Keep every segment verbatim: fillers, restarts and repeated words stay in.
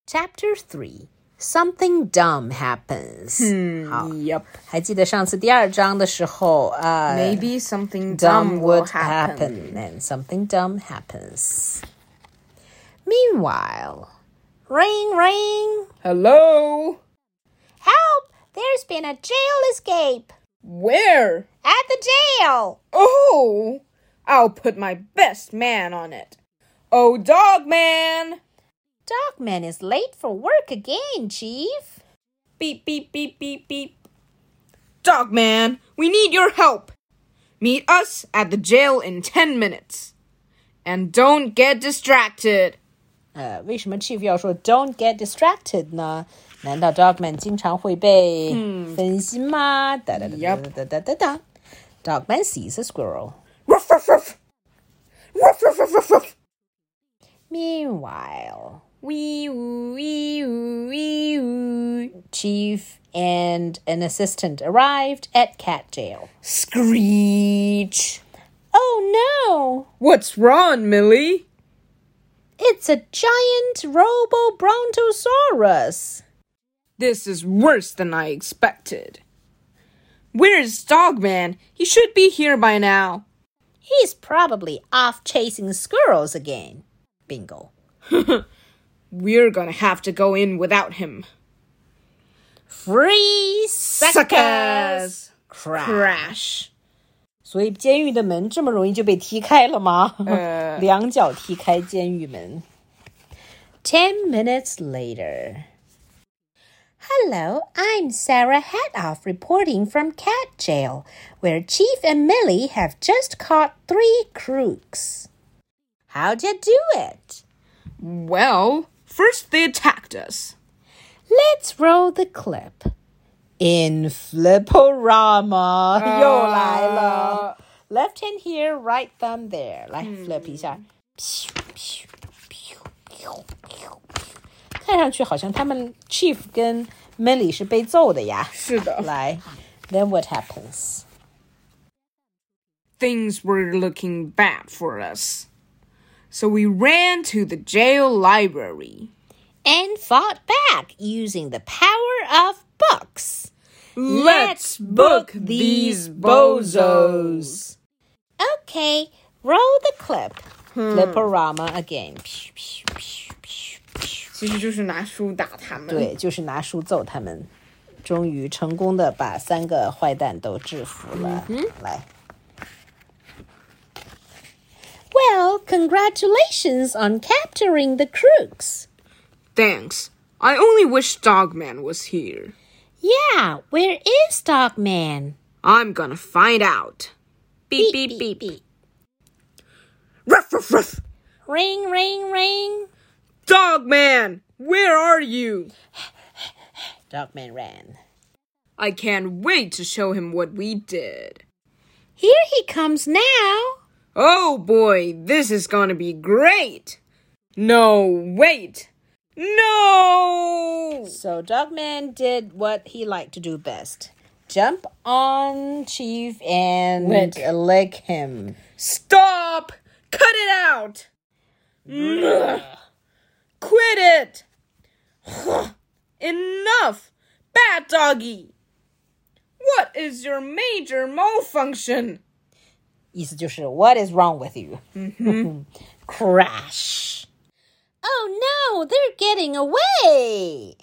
Chapter three. Something dumb happens. Hmm, 好 yep. 还记得上次第二章的时候，呃 Maybe something dumb dumb will would happen. happen. And something dumb happens. Meanwhile, ring, ring. Hello? Help! There's been a jail escape. Where? At the jail. Oh, I'll put my best man on it. Oh, dog man. Dogman is late for work again, Chief. Beep, beep, beep, beep, beep. Dog man, we need your help. Meet us at the jail in ten minutes. And don't get distracted. 呃，为什么 Chief 要说 "Don't get distracted" 呢？难道 Dogman 经常会被分心吗？哒哒哒哒哒哒哒哒。Dogman sees a squirrel. Ruff, ruff, ruff. Ruff, ruff, ruff, ruff, ruff. Meanwhile, Wee oo, wee oo, wee oo. Chief and an assistant arrived at cat jail. Screech. Oh no! What's wrong, Millie? It's a giant Robo-Brontosaurus. This is worse than I expected. Where's Dogman? He should be here by now. He's probably off chasing squirrels again. Bingo. We're gonna have to go in without him. Free suckers! Crash. Crash. 所以监狱的门这么容易就被踢开了吗？ 呃两脚踢开监狱门。Ten minutes later. Hello, I'm Sarah Hatoff reporting from Cat Jail, where Chief and Millie have just caught three crooks. How'd you do it? Well, first they attacked us. Let's roll the clip. In Fliporama. 又来了。Left hand here, right thumb there. 来 flip 一下。看上去好像他们 Chief 跟 Millie 是被揍的呀。 是的。 来 Then what happens? Things were looking bad for us. So we ran to the jail library. And fought back using the power of books. Let's book these bozos. Okay, roll the clip. Fliporama again. 其实就是拿书打他们。 对，就是拿书揍他们。终于成功的把三个坏蛋都制服了。来。Well, congratulations on capturing the crooks. Thanks. I only wish Dogman was here. Yeah, where is Dogman? I'm gonna find out. Beep, beep, beep. beep. Ruff, ruff, ruff. Ring, ring, ring. Dogman, where are you? Dogman ran. I can't wait to show him what we did. Here he comes now. Oh boy, this is gonna be great. No, wait. No! So Dogman did what he liked to do best. Jump on Chief and Lick. lick him. Stop! Cut it out! Quit it! Enough! Bad doggy! What is your major malfunction? 意思就是 What is wrong with you? Crash. Oh no, they're getting away.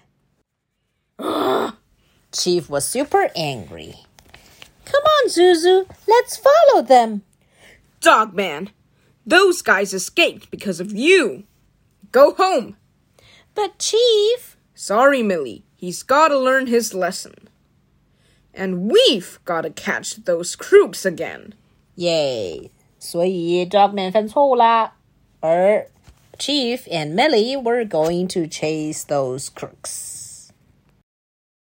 Chief was super angry. Come on, Zuzu, let's follow them. Dogman, those guys escaped because of you. Go home. But Chief... Sorry, Millie. He's gotta learn his lesson. And we've gotta catch those crooks again. Yay. 所以 Dogman 犯错误啦。而 Chief and Millie were going to chase those crooks.